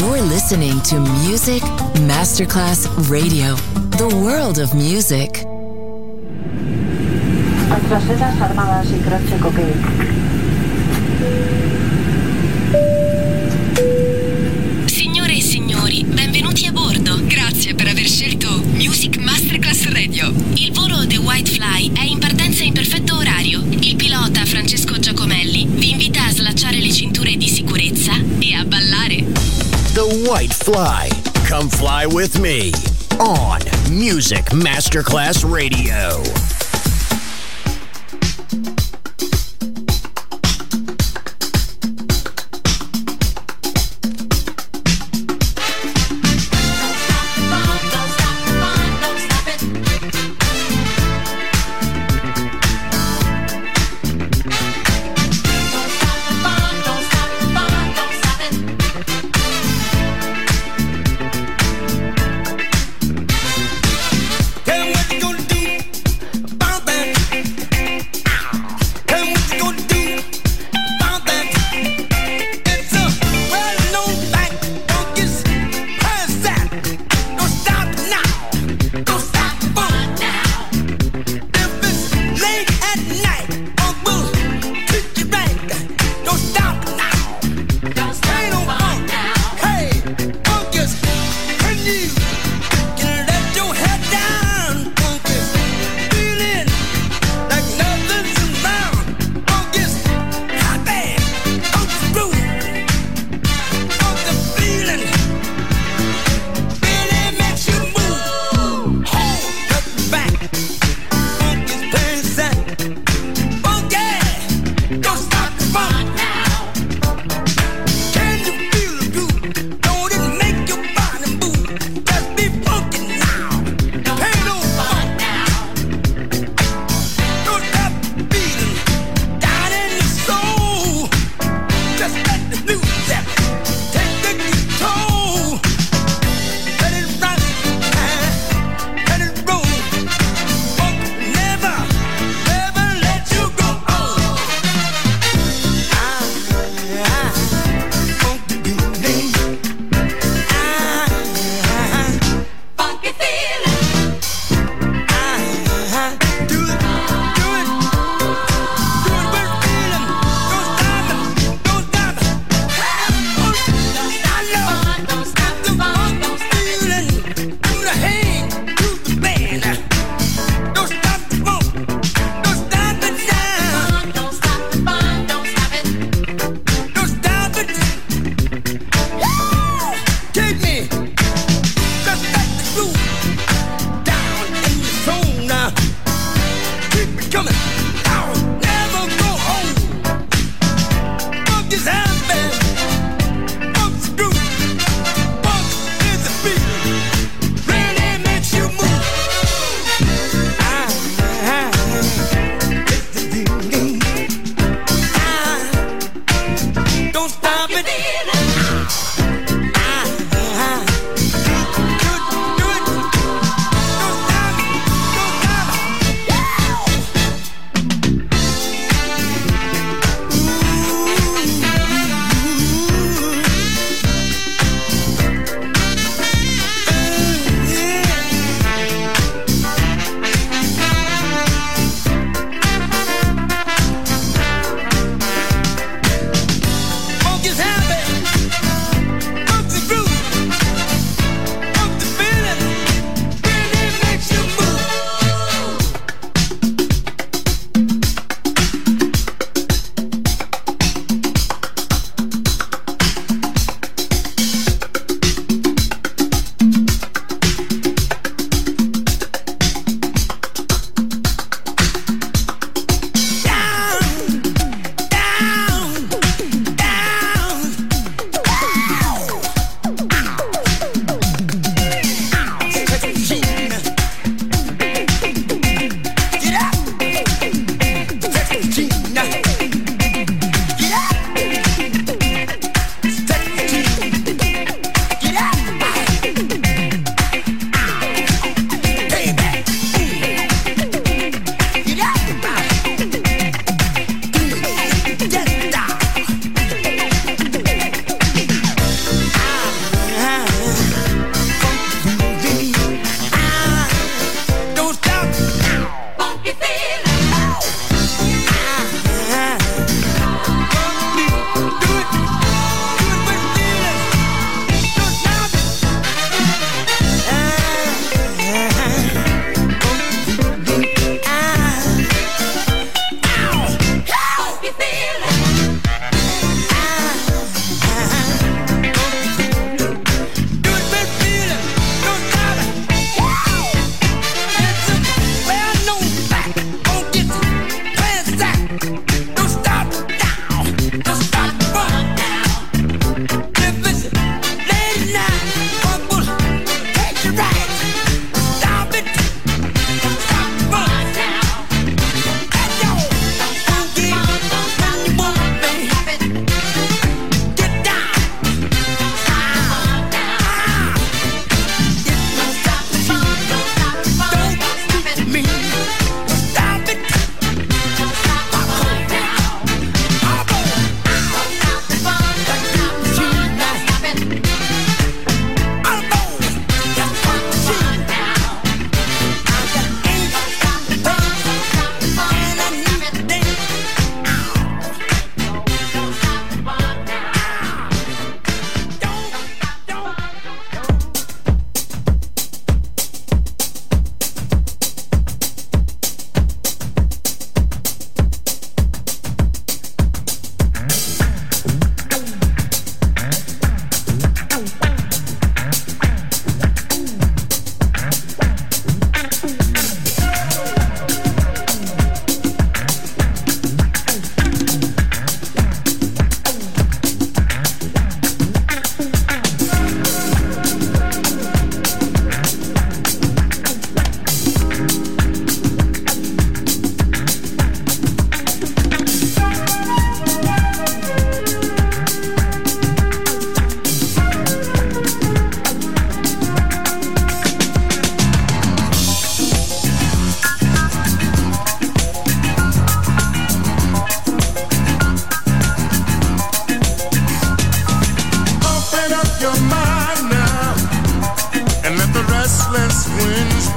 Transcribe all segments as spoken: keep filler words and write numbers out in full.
You're listening to Music Masterclass Radio, the world of music. Trasfertas armadas y croce coquet. Signore e signori, benvenuti a bordo. Grazie per aver scelto Music Masterclass Radio. Il volo The White Fly è in partenza in perfetto orario. Il pilota Francesco Giacomelli vi invita a slacciare le cinture di sicurezza e a ballare. The White Fly. Come fly with me on Music Masterclass Radio.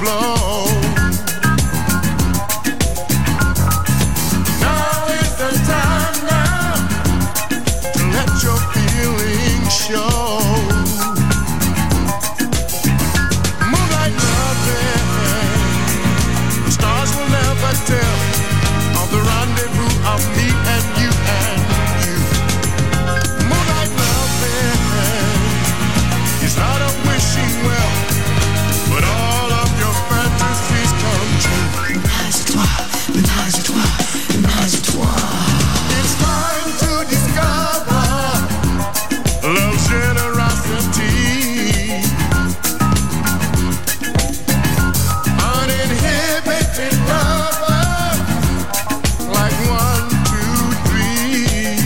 blow. Now is the time now to let your feelings show. Moonlight loving, the stars will never tell of the rendezvous of me and you and you. Moonlight loving is not a wishing well, but all of your fantasies come true. Ménage à toi, ménage à toi, ménage à toi. It's time to discover love's generosity. Uninhibited lover, like one, two, three.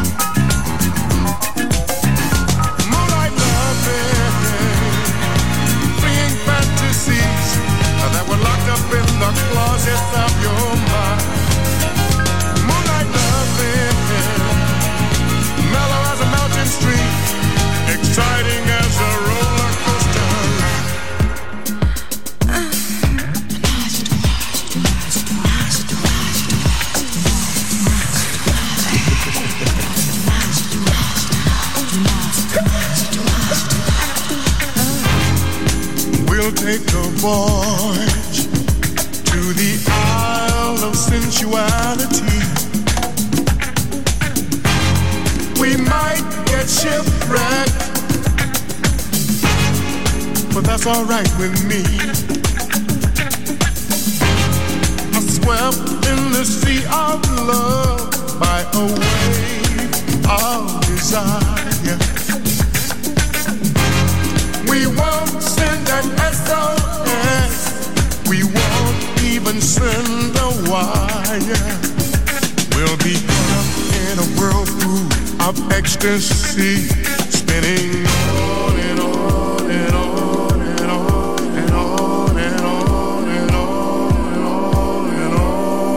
Moonlight loving, freeing fantasies that were locked up in the closets of your mind. Moonlight loving, mellow as a mountain stream, exciting as a roller coaster ride. We'll take a voyage to the Isle of Sensuality. We might get shipwrecked, but that's alright with me. I swept in the sea of love by a wave of desire. We won't send an S O S, we won't even send a wire. We'll be caught up in a whirlpool of ecstasy, spinning on and on and on and on and on and on and on and on and on.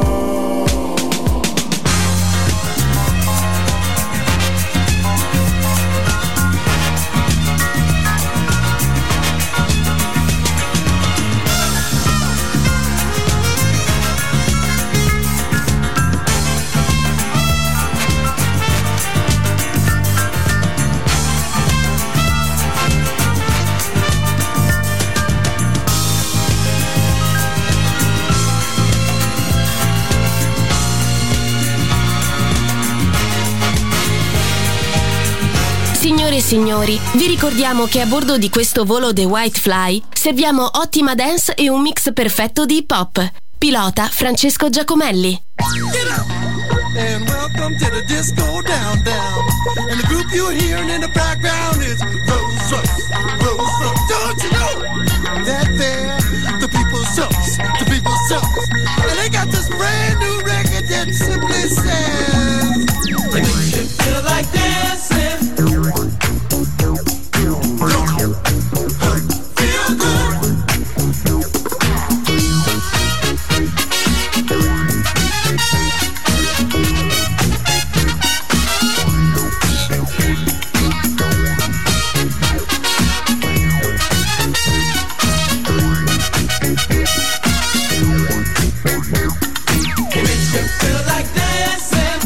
Signore e signori, vi ricordiamo che a bordo di questo volo The White Fly serviamo ottima dance e un mix perfetto di hip hop. Pilota Francesco Giacomelli. Get up and welcome to the disco down down. And the group you're hearing in the background is Rolls Royce, Rolls Royce. Don't you know that they're the people's choice, the people's choice. And they got this brand new record that simply says, it makes you feel like dancing. Feel good. It makes you feel like dancing.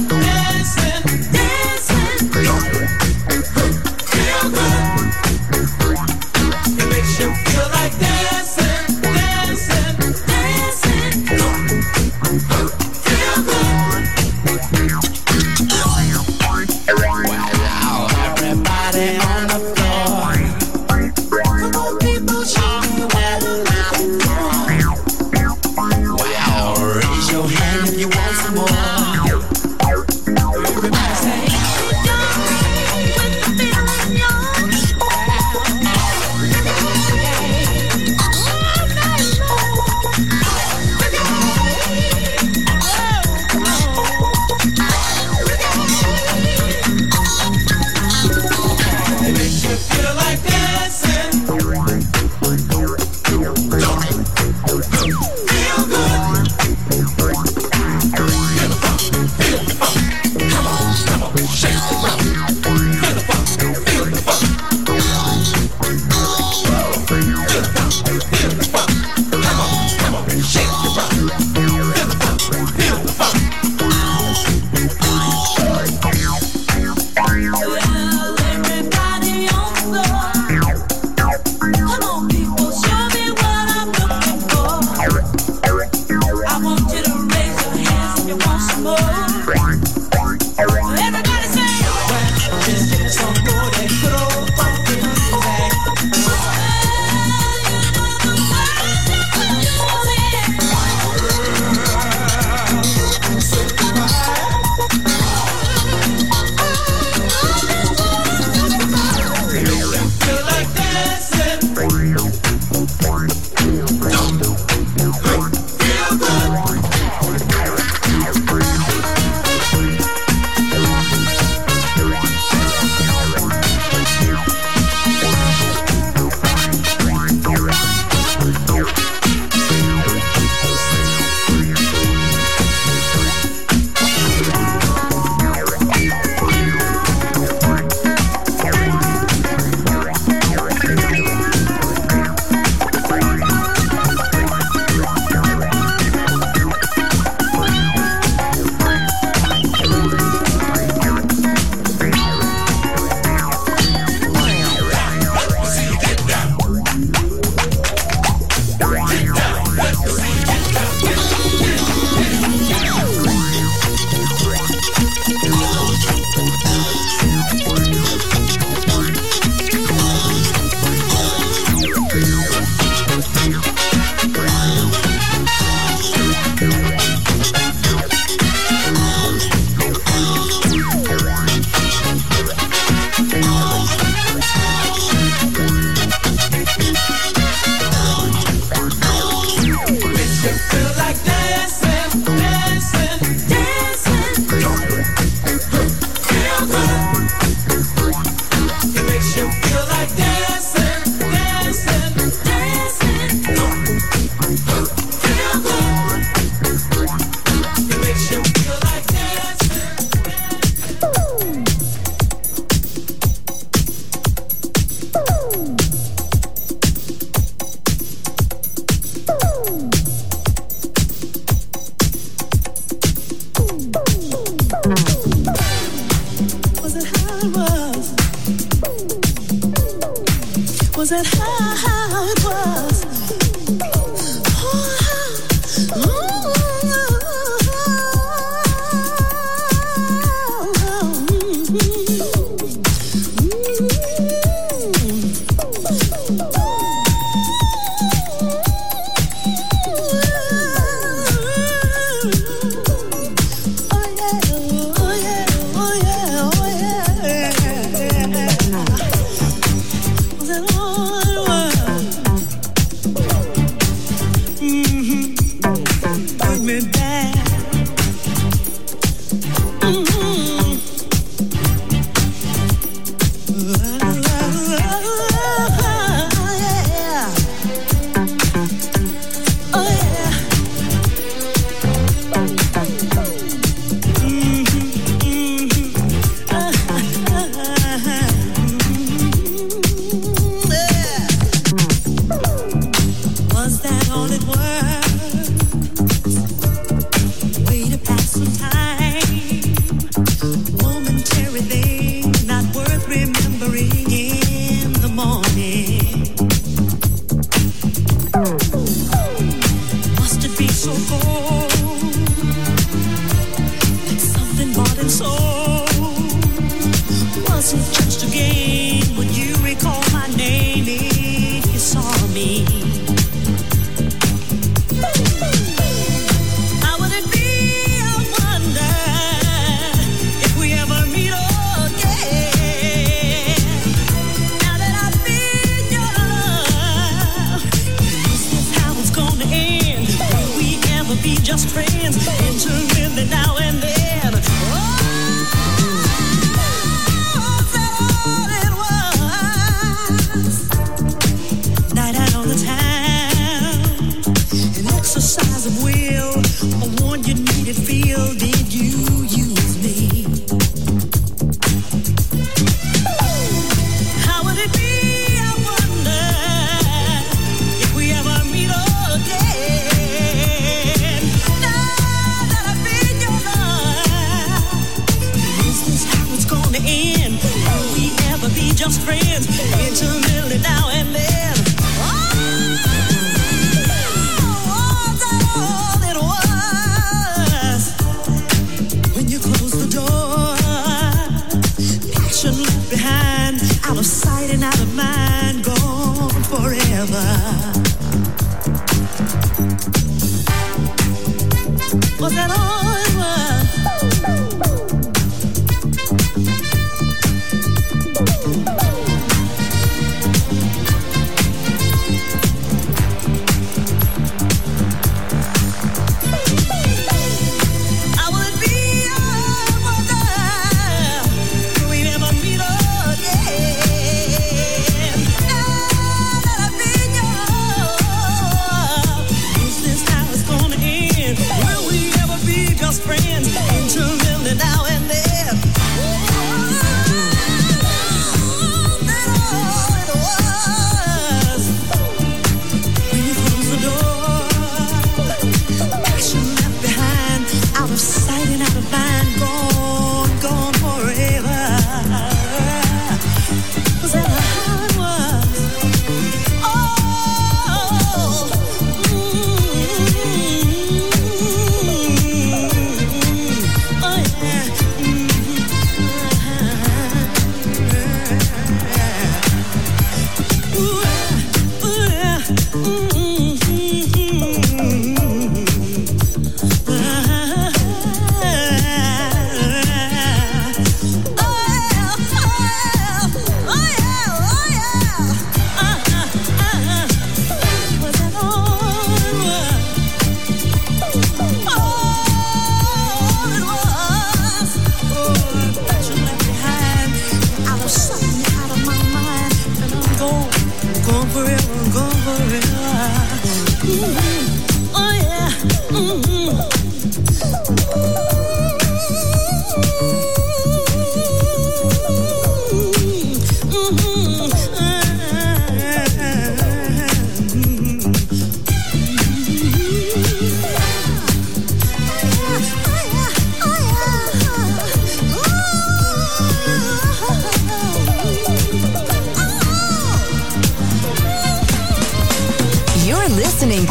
Was that how it was?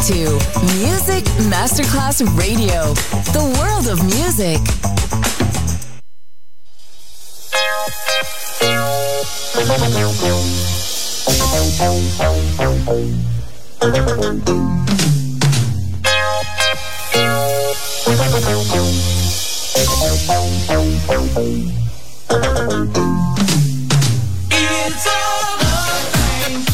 to Music Masterclass Radio, the world of music. It's all a thing.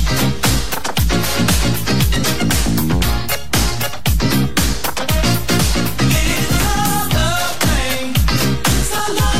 It's all a thing. It's all a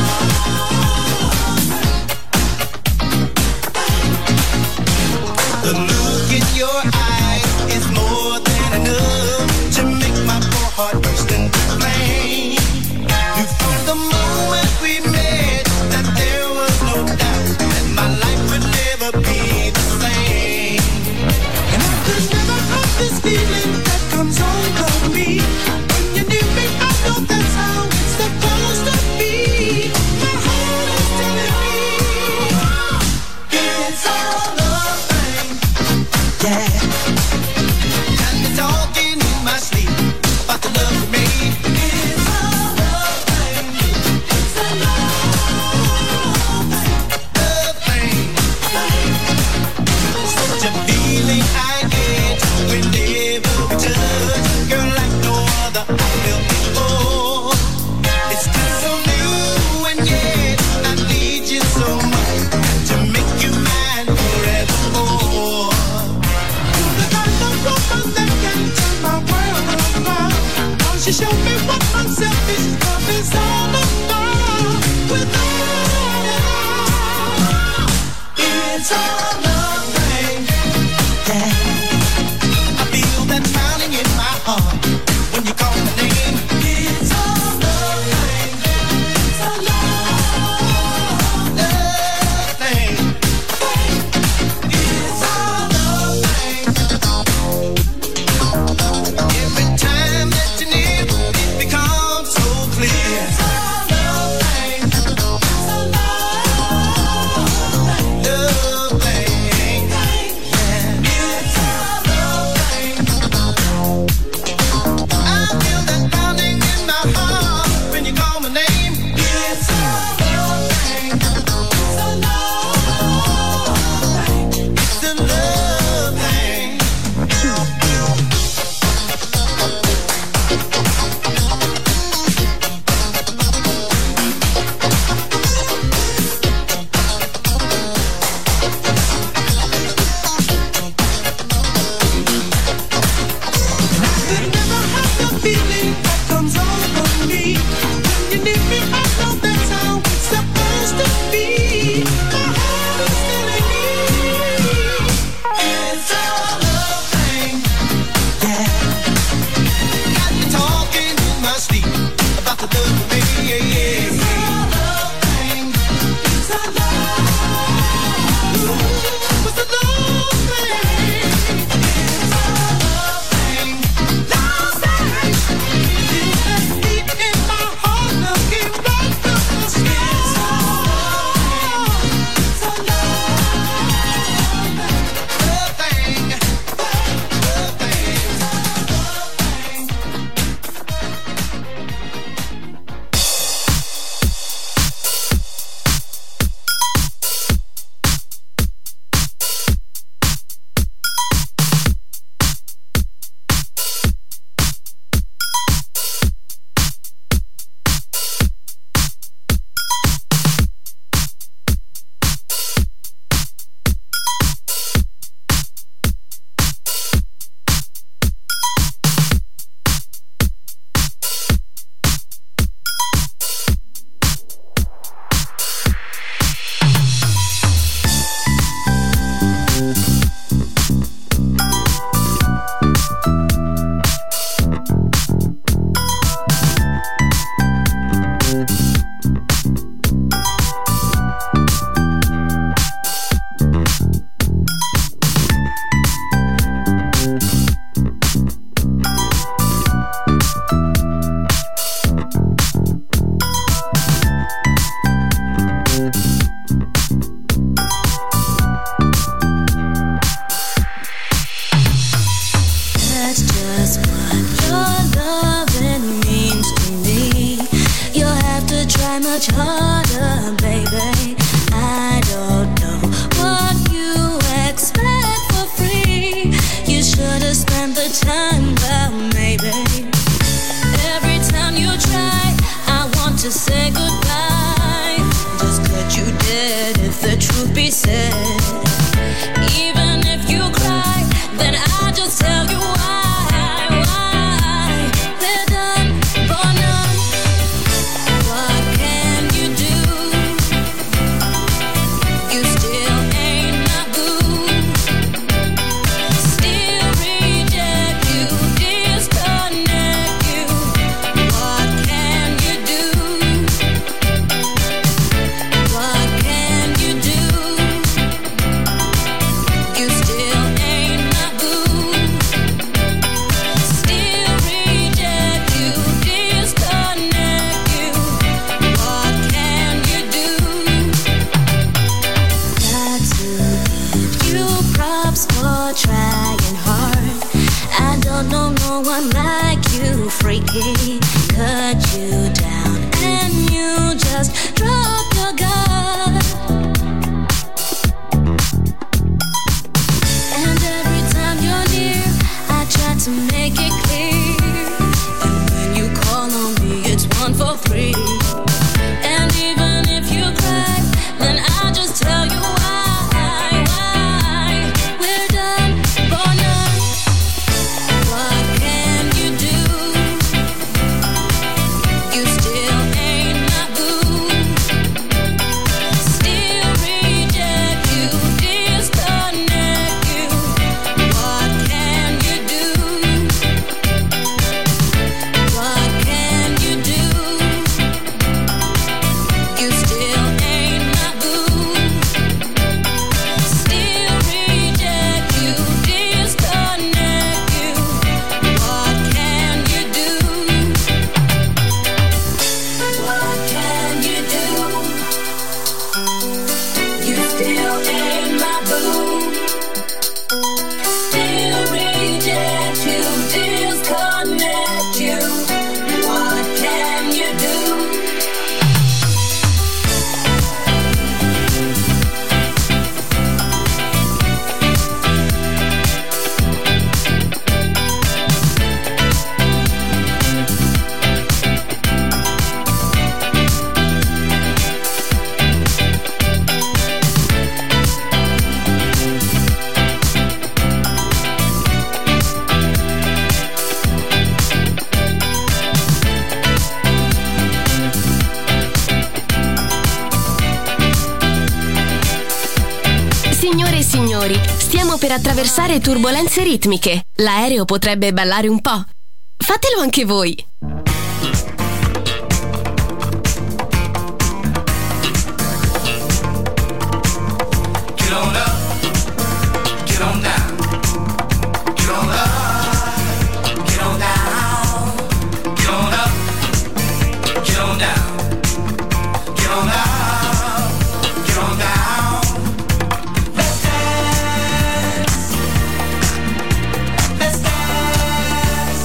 thing. The look in your eyes is more than enough to make my poor heart burst into flame. You from the moment we met that there was no doubt that my life would never be the same. And I could never have this feeling that comes over me. When you knew me, I know that's how it's supposed to be. My heart is telling me it's all a thing. Yeah. And it's talking in my sleep about the love we made. It's all a thing. It's a love thing. Such a feeling I get whenever we touch, girl, like no other I felt before. It's still so new and yet I need you so much to make you mine forevermore. You're the kind of woman that can turn my world around. Cause you show me what unselfish love is all about. Without it, it's all a thing. Yeah. I feel that pounding in my heart when you call my name. It's all a thing. It's a love, love thing. It's all a thing. Every time that you're near, it becomes so clear. It's all a thing. It's a love thing. Love thing. props for trying hard. I don't know no one like you, freaky. Cut you down and you just drop your guard. And every time you're near, I try to make it clear. And when you call on me, it's one for free. And even if you cry, then I'll just tell you why, why. We're done for now. What can you do? You still ain't my boo. Still reject you, disconnect you. What can you do? What can you do? You still ain't my boo. Still reject you, disconnect you. What can you do? What can you do? You still ain't my boo. Still reject you, disconnect you. What can you do? Signore e signori, stiamo per attraversare turbolenze ritmiche. L'aereo potrebbe ballare un po'. Fatelo anche voi. Get on up, get on down, get on up, get on down, get on up, get on down, get on up, get on down. Let's dance, let's dance.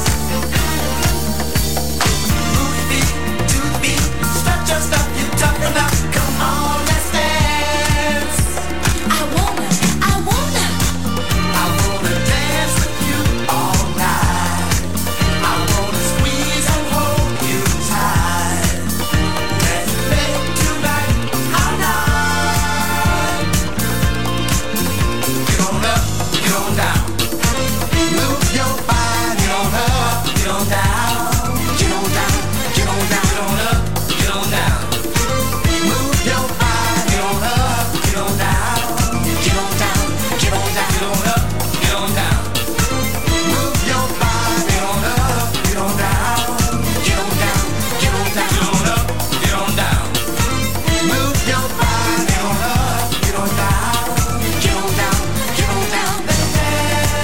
Move your feet to the beat, stretch your stuff, you toughen up. Come on, let's dance. I wanna, I wanna. I wanna dance with you all night. I wanna squeeze and hold you tight. Let's make tonight our night. Get on up, get on down. Move your body. Get on up, get on down. Get on down, get on down. Get on up, get on down. Move your body. Get on up, get on down. Get on down, get on down. Get on up, get on down. Move your body. Get on up, get on down. Get on down, get on down. Get on up, get on down. Move your body. Get on up, get on down. Get on down, get on down. Let's dance.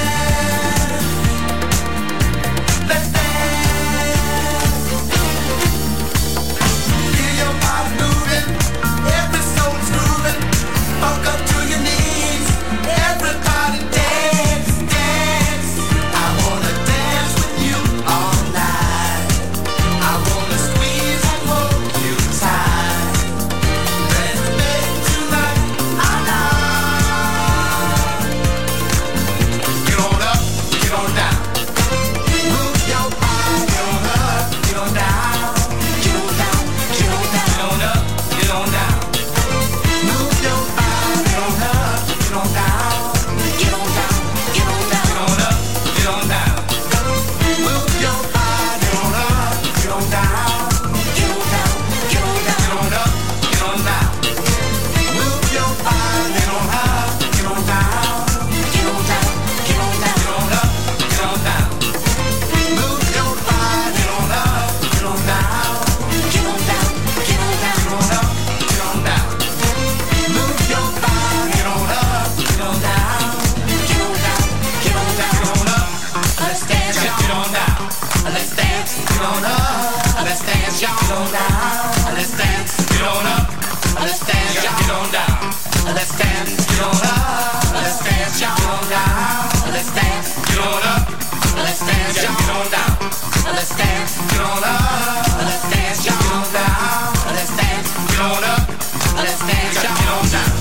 let's dance, get on up. Let's dance, y'all. Get on down. Let's dance, get on up. Let's dance, y'all. Get on down.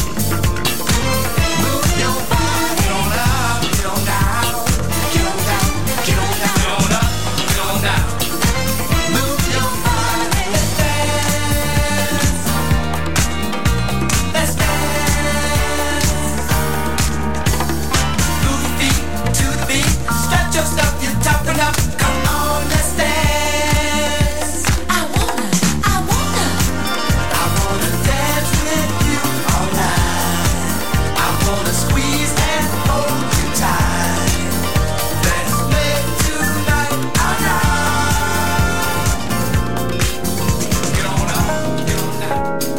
Move your body. Get on up, get on down. Get on down, get on down. Get on up, get on down. Move your body. Let's dance. Let's dance. Move your feet to the beat. Stretch your stuff, you're toughen up. Come on, let's dance. I wanna, I wanna, I wanna dance with you all night. I wanna squeeze and hold you tight. Let's make tonight our night. Get on up, get on down.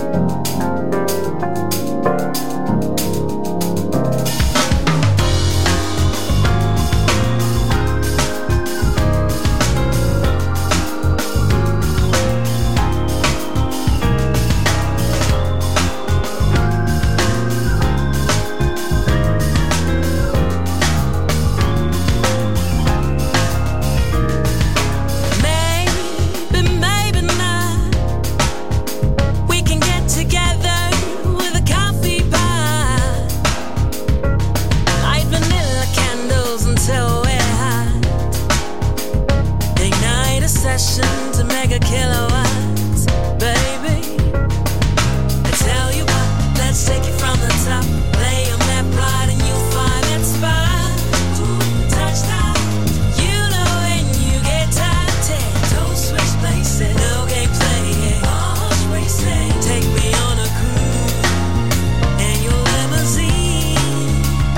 Maybe, maybe not. We can get together with a coffee pot. Light vanilla candles until we're hot. Ignite a session to mega kilowatts, baby. I tell you what, let's take it from the top. Lay on that rod and you'll find that spot. Touch that. You know when you get tired, don't switch places. No game playing, almost racing. Take me on a cruise in your limousine.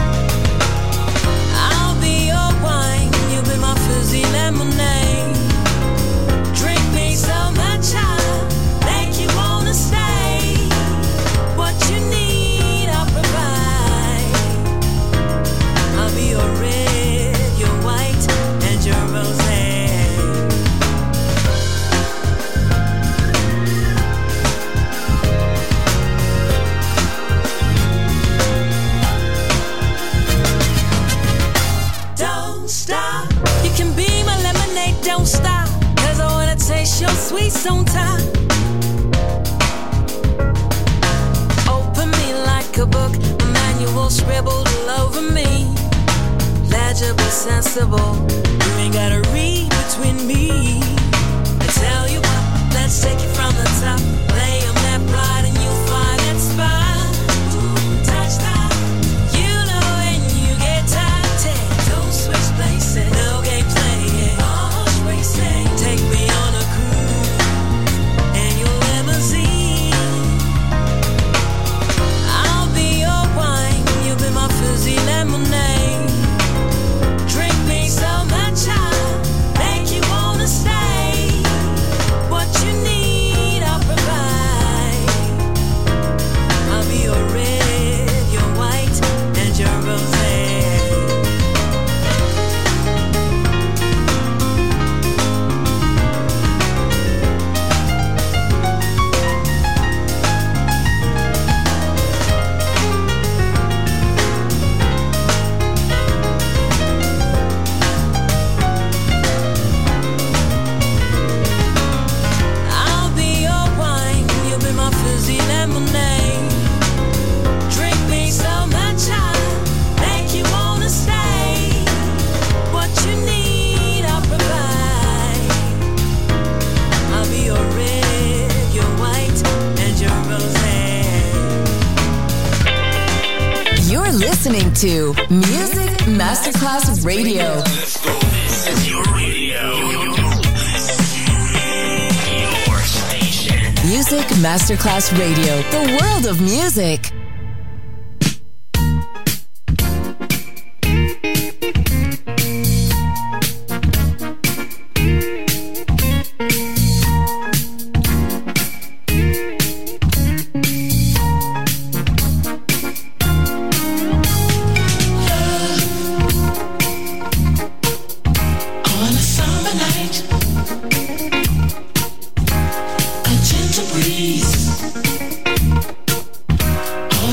I'll be your wine, you'll be my fizzy lemonade. Drink me so much I'll make you wanna stay. What you need, I'll provide. I'll be your red, your white, and your rosé. Don't stop. You can be my lemonade, don't stop. Cause I wanna taste your sweet on top. Open me like a book, a manual scribbled all over me. Legible, sensible. You ain't gotta read between me. I tell you what, let's take it from the top. Lay on that rod and you'll find that spot. Touch that. You know when you get tired, don't switch places. No game playing, almost racing. Take me on a cruise in your limousine. I'll be your wine, you'll be my fizzy lemonade. Drink me so much I'll make you wanna stay. What you need, I'll provide. I'll be your red, your white, and your rosé. I'll be your wine, you'll be my fizzy lemonade. Drink me so much I'll make you wanna stay. What you need, I'll provide. I'll be your red, your white, and your rosé. You're listening to Music Masterclass Radio. This is your radio. Your station. Music Masterclass Radio. The world of music. On a summer night, a gentle breeze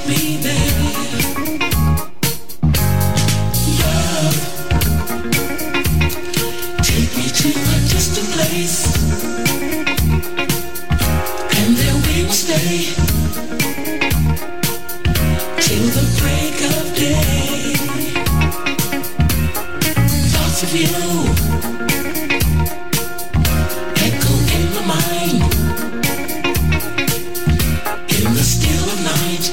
be there. Love, take me to a distant place, and there we will stay till the break of day. Thoughts of you echo in my mind, in the still of night,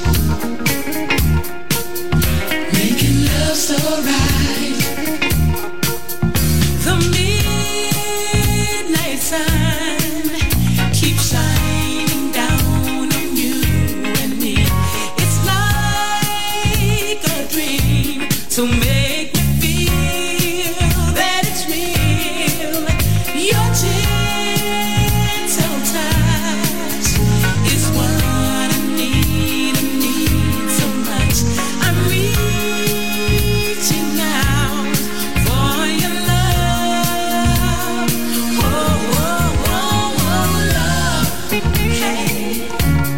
making love so right. The midnight sun keeps shining down on you and me. It's like a dream to make me feel that it's real. Your gentle touch is what I need, I need so much. I'm reaching out for your love. Oh, oh, oh, oh, love. Hey,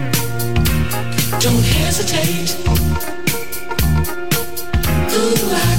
don't hesitate. Ooh, I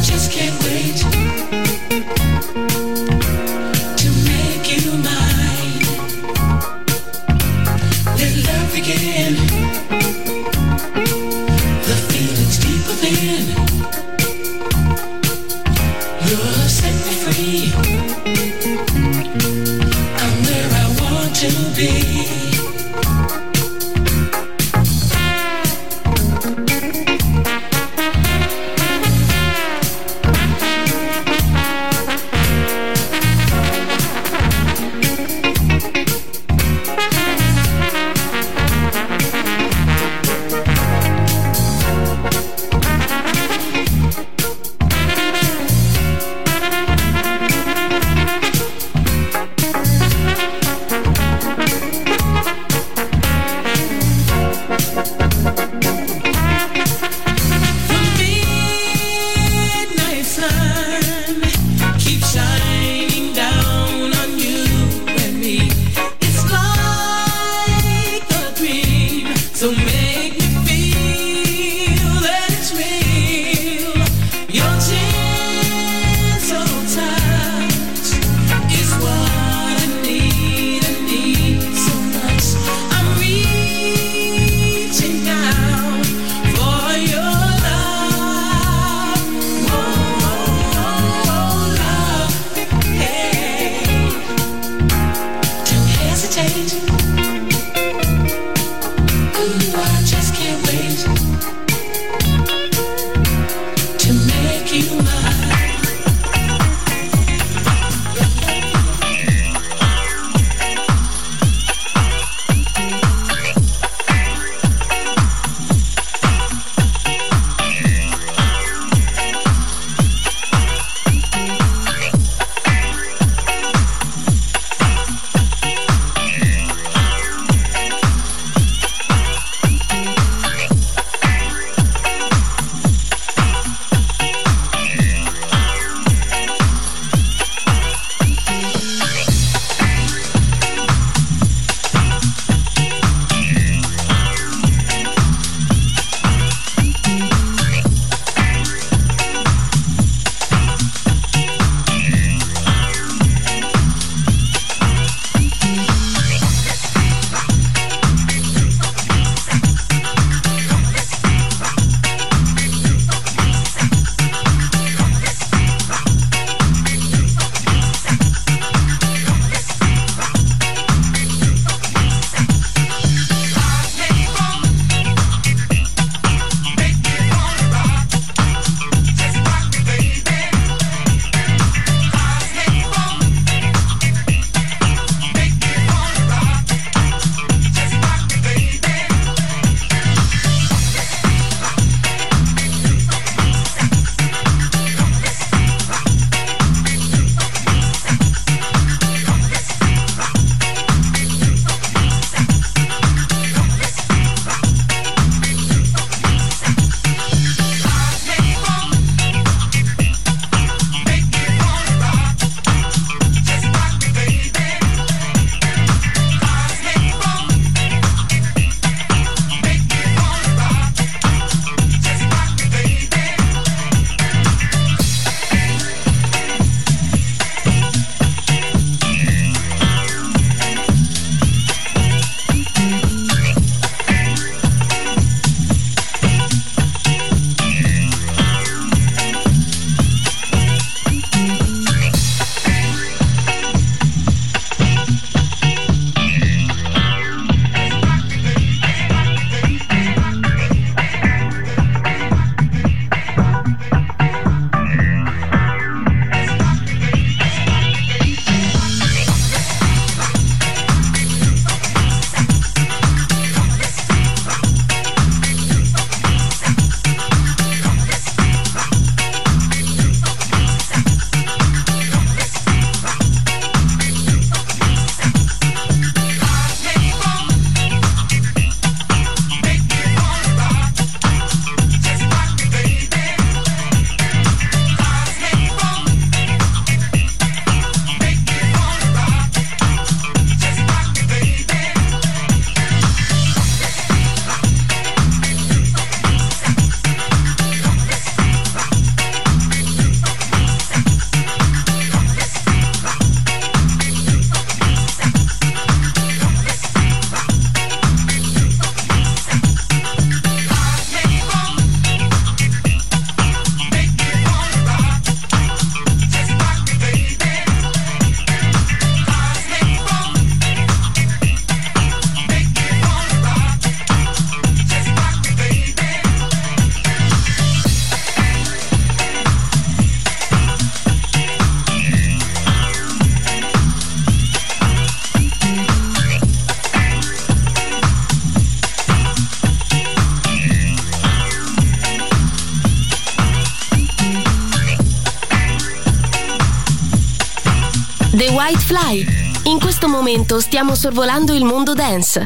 The White Fly. In questo momento stiamo sorvolando il mondo dance.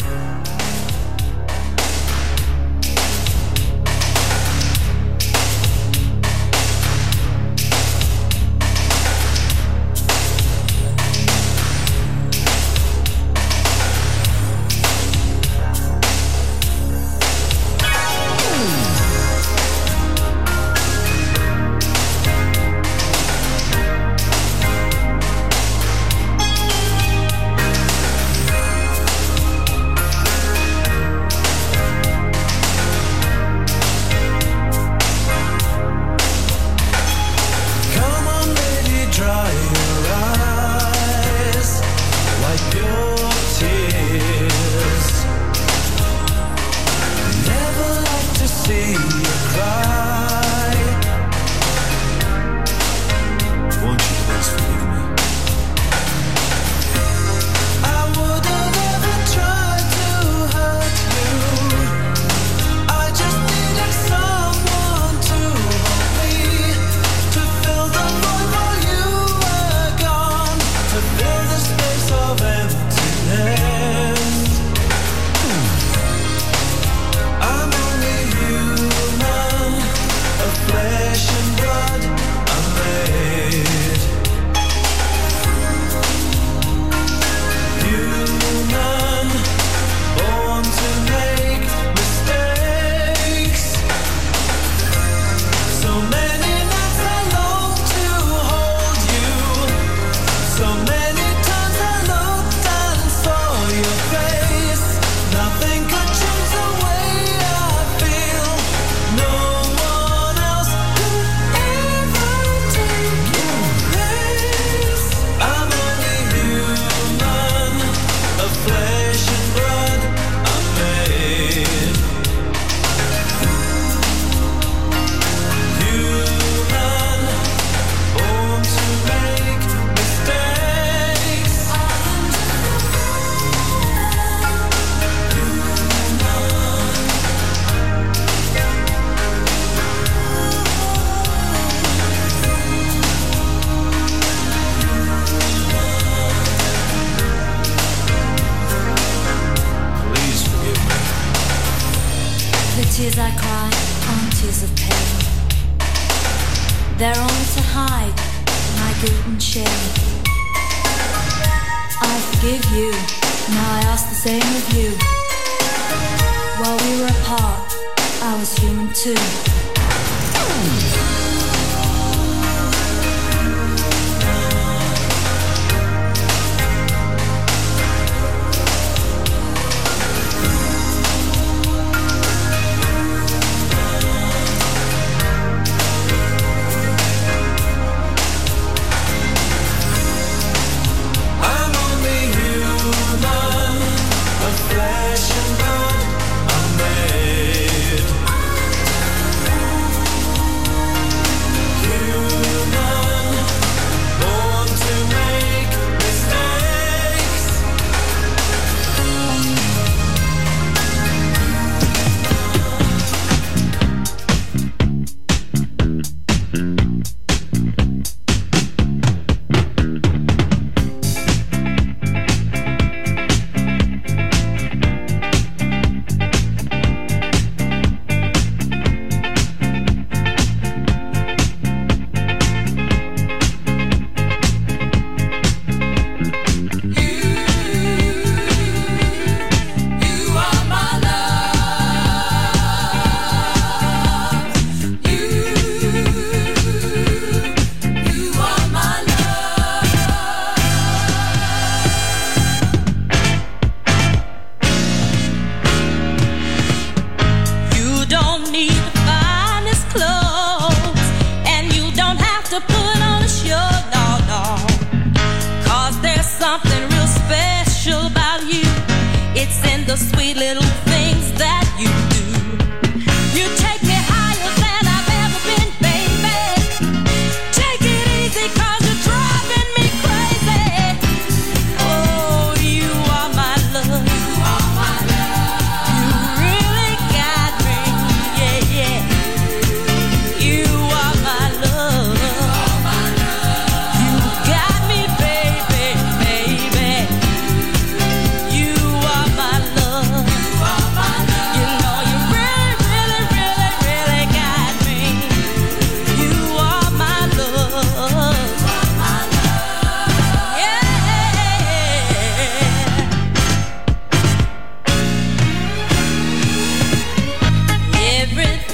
Tears I cry aren't tears of pain. They're only to hide my guilt and shame. I forgive you, now I ask the same of you. While we were apart, I was human too. Baby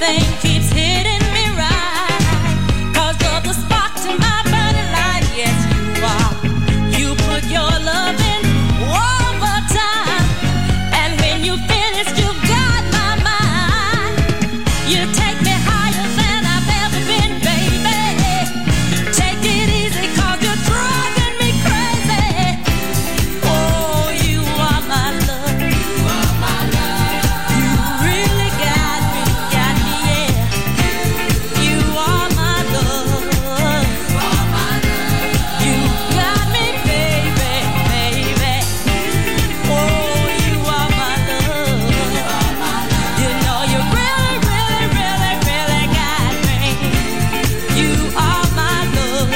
everything keeps hitting me right. 'Cause you're the spark to my burning light. Yes, you are. You put your love in overtime. And when you finish, you got my mind. You take me higher than I've ever been, baby. Take it easy 'cause you're driving me crazy. Oh, you are my love. You are my love. You really got me, got me, yeah. You are my love. You are my love. You got me, baby, baby. Oh, you are my love. You are my love. You know you really, really, really, really got me. You are my love.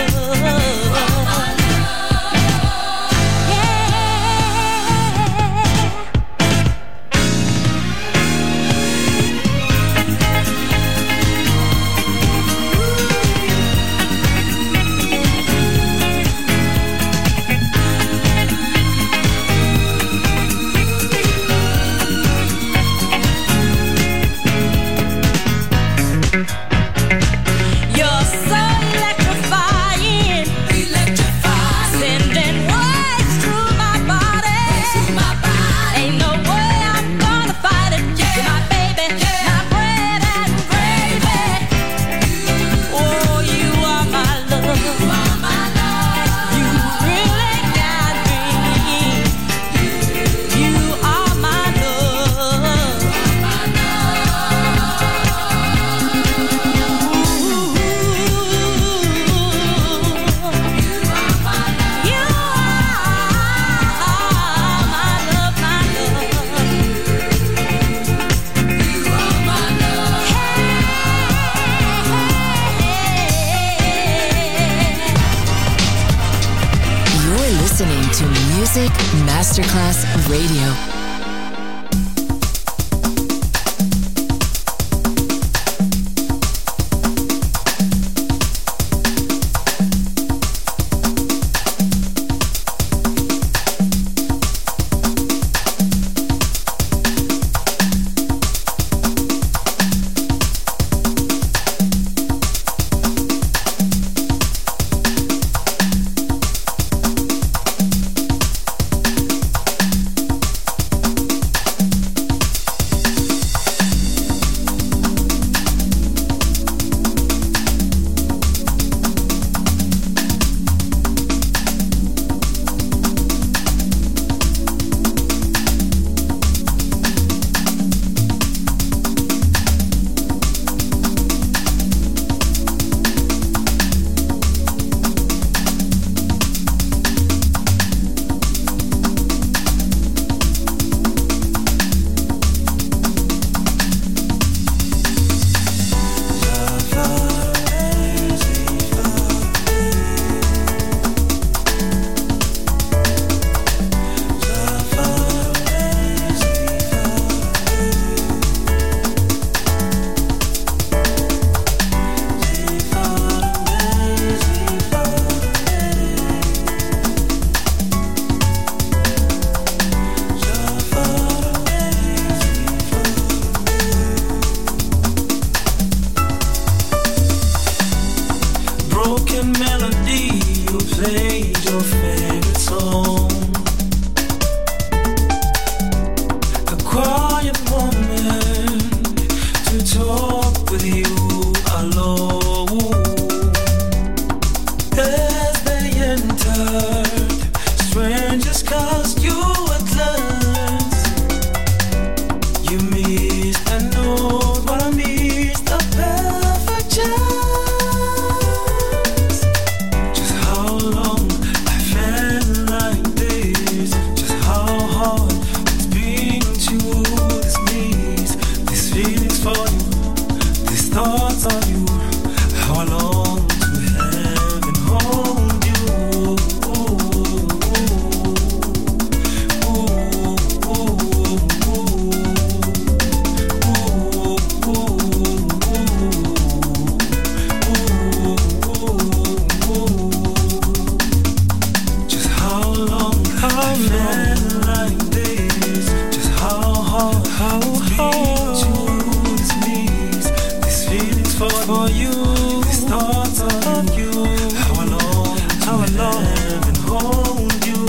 You're so electrifying, electrifying, sending waves through my body, through my body. Ain't no way I'm gonna fight it. You're my baby, my bread and gravy. Oh, you are my love. You are my love. You really got me. You are my love. You are my You're listening to Music Masterclass Radio. Broken melody, you played your favorite song. A quiet moment to talk with you alone. As they entered, strangers cast you a glance. You missed a note, but I missed a perfect chance. Thoughts on you, how I long to have and hold you. for you. These thoughts of you. How I long, how I long and hold you.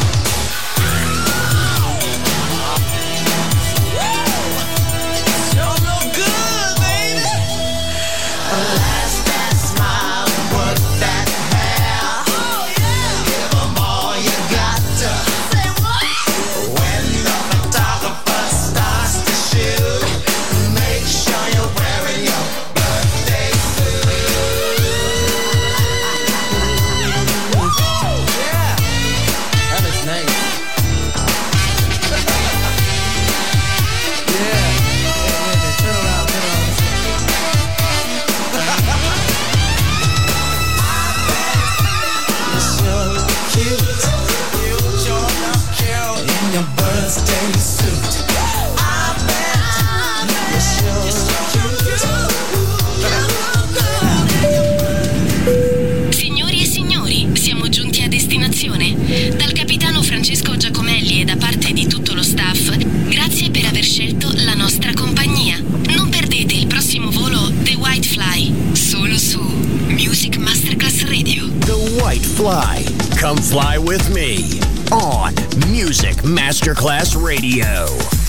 Your Fly. Come fly with me on Music Masterclass Radio.